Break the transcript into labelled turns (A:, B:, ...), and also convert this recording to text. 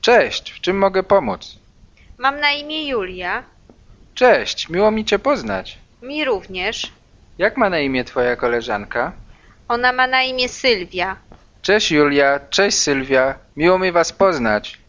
A: Cześć, w czym mogę pomóc?
B: Mam na imię Julia.
A: Cześć, miło mi cię poznać.
B: Mi również.
A: Jak ma na imię twoja koleżanka?
B: Ona ma na imię Sylwia.
A: Cześć Julia, cześć Sylwia, miło mi was poznać.